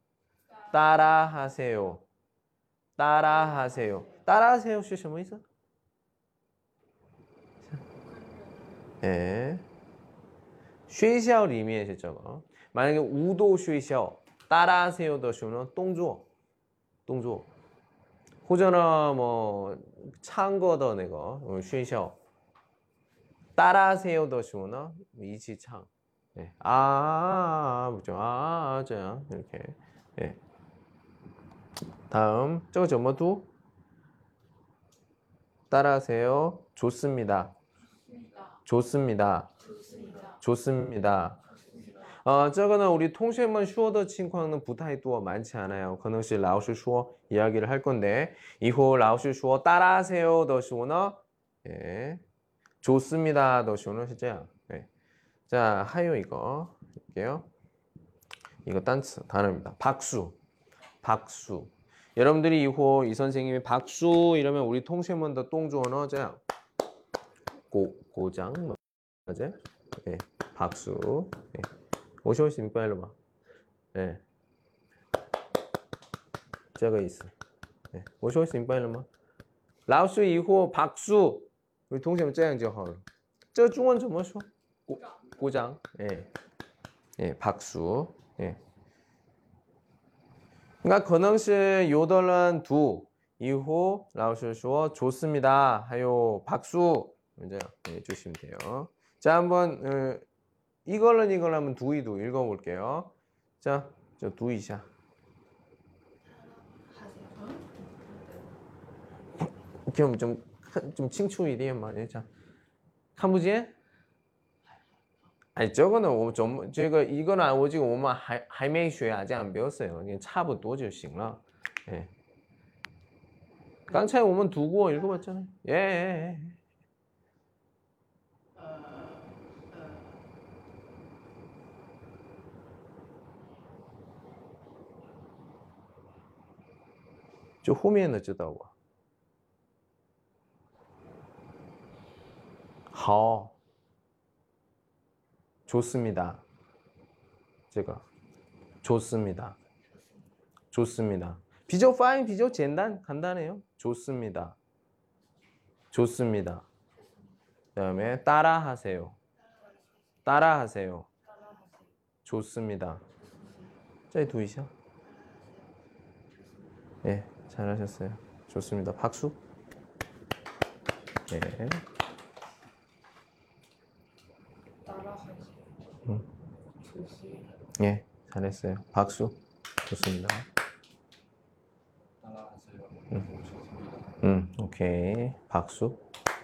따라하세요. 따라하세요. 따라하세요. 是什么意思? 예. 学校里面是这个. 만약에 우도 学校 따라하세요的时候呢动作或者呢뭐唱歌的那个学校 따라하세요的时候呢一起唱 예. 그죠?这样 이렇게. 예. 다음 저거 점어두 따라하세요. 좋습니다. 좋습니다. 좋습니다. 这个呢 우리 통신문 说的情况呢不太多 많지 않아요. 可能是老师说 이야기를 할 건데 以后老师说 따라하세요 的时候呢 예. 좋습니다 的时候呢是这样. 예. 자, 하요 이거 볼게요. 이거 단词 단어입니다. 박수. 박수. 여러분들이 이후 이 선생님이 박수 이러면 우리 통신문 더 동조어는 这样. 고장 맞아요? 예. 박수. 예. 我休息明白了吗？ 예. 这个意思. 예. 我休息明白了吗？老师以后박수 우리 동생은 这样就好了。这中文怎么说？鼓掌. 예. 예, 박수. 예. 그러니까 可能是有的人读以后老师说 좋습니다. 还有 박수. 이제 예, 주시면 돼요. 자, 한번 이걸로 한번 두이도 읽어볼게요. 자, 저 두이샤. 좀 칭추一点嘛. 자, 看不见? 아니, 저거는 좀 이거는 오직 我们还没学啊，这样不要써요. 그냥 差不多就行了. 예. 刚才我们读过 읽어봤잖아요. 예. 就后面的知道我。好， 좋습니다. 这个 좋습니다. 좋습니다.发音比较简单 간단해요. 좋습니다. 좋습니다. 그다음에 따라하세요. 따라하세요. 좋습니다. 자, 두이샤. 예, 잘하셨어요. 좋습니다. 박수. 예. 예, 잘했어요. 박수. 좋습니다. 오케이. 박수.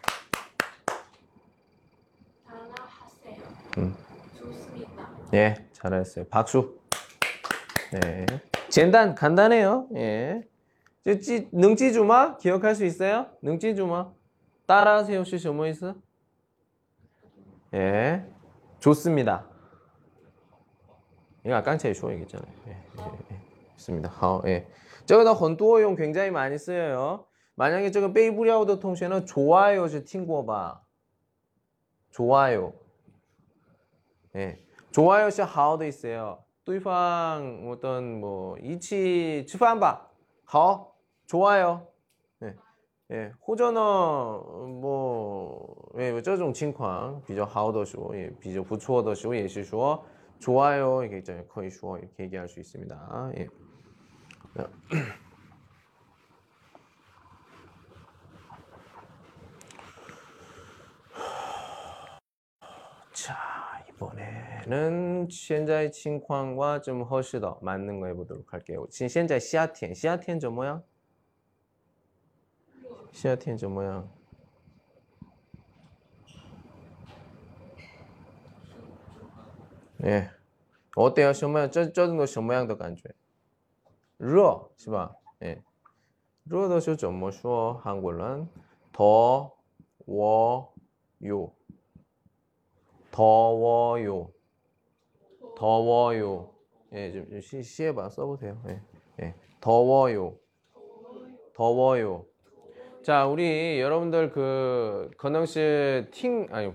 좋습니다. 예, 잘했어요. 박수. 네. 간단해요. 예. 능지주마 기억할 수 있어요? 능지주마. 따라하세요. 是什么意思? 예. 좋습니다. 이거 아까 제가 얘기했잖아요. 예. 좋습니다. 好, 예. 这个的很多用 굉장히 많이 쓰여요. 만약에 这个背不了的同学呢 좋아요 是听过吧? 좋아요. 예. 좋아요 是好的 있어요. 对方 어떤 뭐 이치 吃饭吧. 好. 좋아요. 예. 예. 或者呢 뭐 예, 这种情况比较好的时候, 예, 比较不错的时候也是说 좋아요 이렇게 있잖아요. 可以说 이렇게 얘기할 수 있습니다. 예. 자, 이번에는 现在情况과 좀 훨씬 더 맞는 거 해보도록 할게요. 现在夏天怎么样? 夏天怎么样? 예. 어때요? 什么这种什么样的感觉? 热是吧? 예. 热的时候怎么说? 한국어는 더워요. 더워요. 예, 좀 시해봐 써보세요. 예, 예. 더워요. 자, 우리 여러분들 그可能是 아니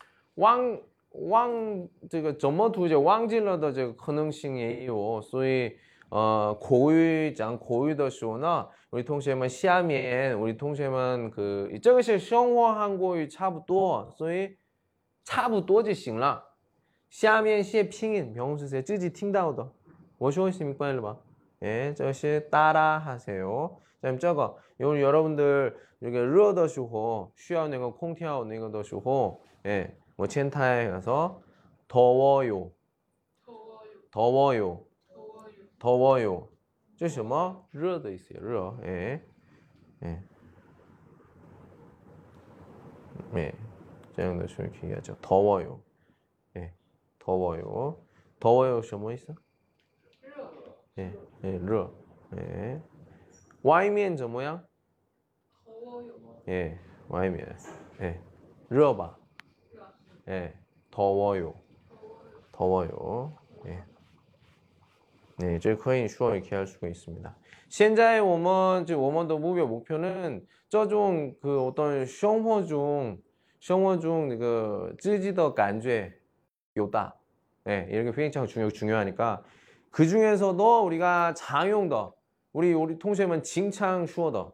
这个怎么读就忘记了的这个可能性也有，所以口语讲口语的时候呢， 우리 동생们下面 우리 동생们그这个是生活韩国语差不多，所以差不多就行了。下面写拼音，比方说自己听到的我说있습니까? 일로 봐. 예, 这是 따라 하세요. 자, 저거. 요 여러분들 이렇게 热的时候 需要那个空调那个的时候 예, 뭐 첸타에 가서 더워요. 더워요. 더워요. 더워요. 더워요. 这什么?热的意思,热. 예. 예. 예. 这样的去이렇게 얘기하죠. 더워요. 예. 더워요. 더워요 什么意思? 热. 예. 예, 热. 예. 外面怎么样? 더워요. 예. 外面. 예. 热吧. 예. 더워요. 더워요. 예. 네, 这可以说 이렇게 할 수가 있습니다. 现在我们的目标목표는这种그 어떤 生活中那个自己的感觉有大. 예, 이렇게 굉장히 중요하니까 그 중에서도 우리가常用的 우리 통신은 经常说的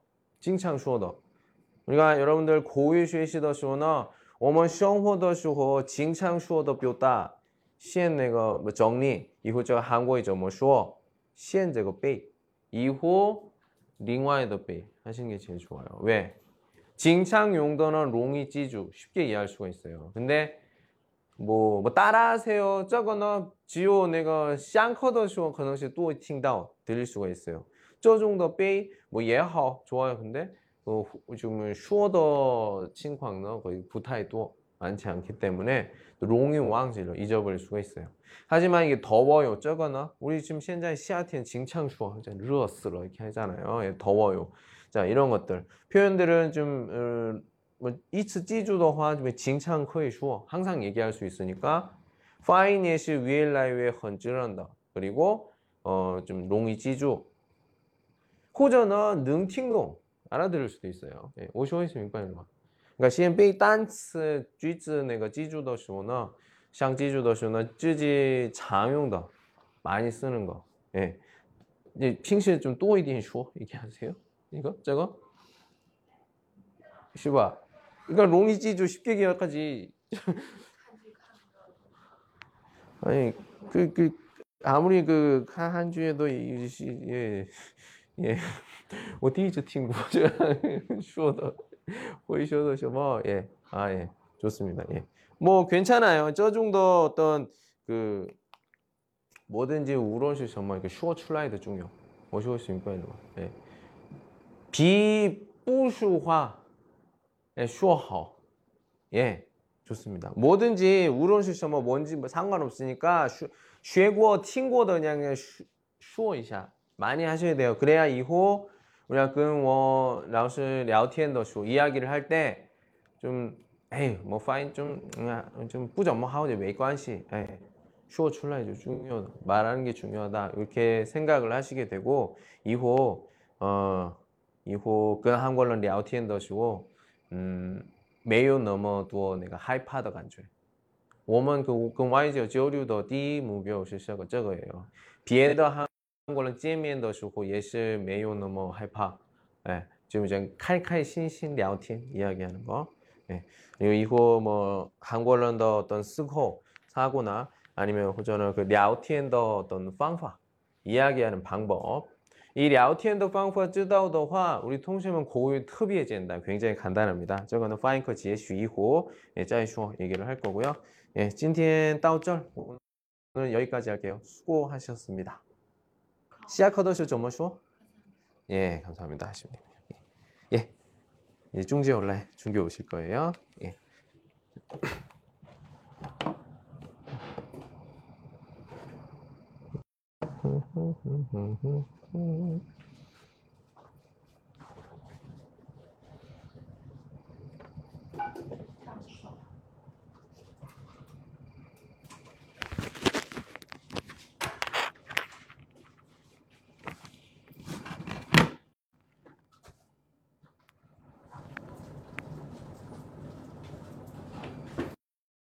우리가 여러분들 고유 学习的时候呢我们生活的时候经常说的表达先那个整理以后这个韩国语怎么说先这个背以后另外的背하시는 게 제일 좋아요. 왜?经常 용도는 롱이 찌주 쉽게 이해할 수가 있어요. 근데 뭐 따라하세요. 저거는 지요 내가 上课的时候 可能是또 听到 들릴 수가 있어요. 这种的背뭐也好 좋아요. 근데 좀 说的情况呢 거의 不太多 많지 않기 때문에 롱이 왕지를 잊어버릴 수가 있어요. 하지만 이게 더워요. 저거는 우리 지금 현재 夏天 经常说 热死了 이렇게 하잖아요. 예, 더워요. 자, 이런 것들 표현들은 좀 뭐 이츠 찌주더화 좀 经常可以说 항상 얘기할 수 있으니까 파인 예시 위엘라이웨 헌질한다. 그리고 좀 롱이 찌주 호전은 능팅동 알아들을 수도 있어요. 예, 我说있습니까? 그러니까 先背单词句子那个记住的时候呢想记住的时候呢自己常用的 많이 쓰는 거. 예. 이제 平时좀多一点说 얘기하세요. 이거 저거? 是吧? 그러니까 롱이 찌주 쉽게 기억하지. 아니 아무리 그 한 주에도 예. 예. 我第一次听过这样说的会说的什么 예. 아, 예. 좋습니다. 예. 뭐 괜찮아요. 저 정도 어떤 그 뭐든지 우론시 정말 이렇게 슈어 출라이드 중요. 뭐시고 있습니까? 예. 비부수화 예, 슈어하오. 예. 좋습니다. 뭐든지 우론시 정말 뭔지 뭐 상관없으니까 쉐고 팅고도 그냥 슈어 이샤 많이 하셔야 돼요. 그래야 이후 우리가 그老师聊天的时候 이야기를 할 때 좀 에이 뭐 파인 좀不怎么好也没关系. 에이, 说出来就 중요하다. 말하는 게 중요하다. 이렇게 생각을 하시게 되고 이후 跟韩国人聊天的时候没有那么多那个害怕的感觉。我们跟外界交流的第一目标是这个예요。别的韩国人见面的时候也是没有那么害怕。 예, 지금 이제 칼칼신신 聊天 이야기하는 거. 예, 그리고 이후 뭐 한국어의 어떤 쓰고 사고나 아니면 호전은 그 聊天的 어떤 方法 이야기하는 방법. 이 聊天的方法知道的话 우리 통신은 고유 특别简单 굉장히 간단합니다. 저거는 파인커 지혜슈 이후 예, 再说 얘기를 할 거고요. 예, 今天到这儿 오늘 여기까지 할게요. 수고하셨습니다. 시작하던 시怎么说? 예, 감사합니다. 하시면 됩니다. 예, 이제 중재 온라인 중계 오실 거예요. 예.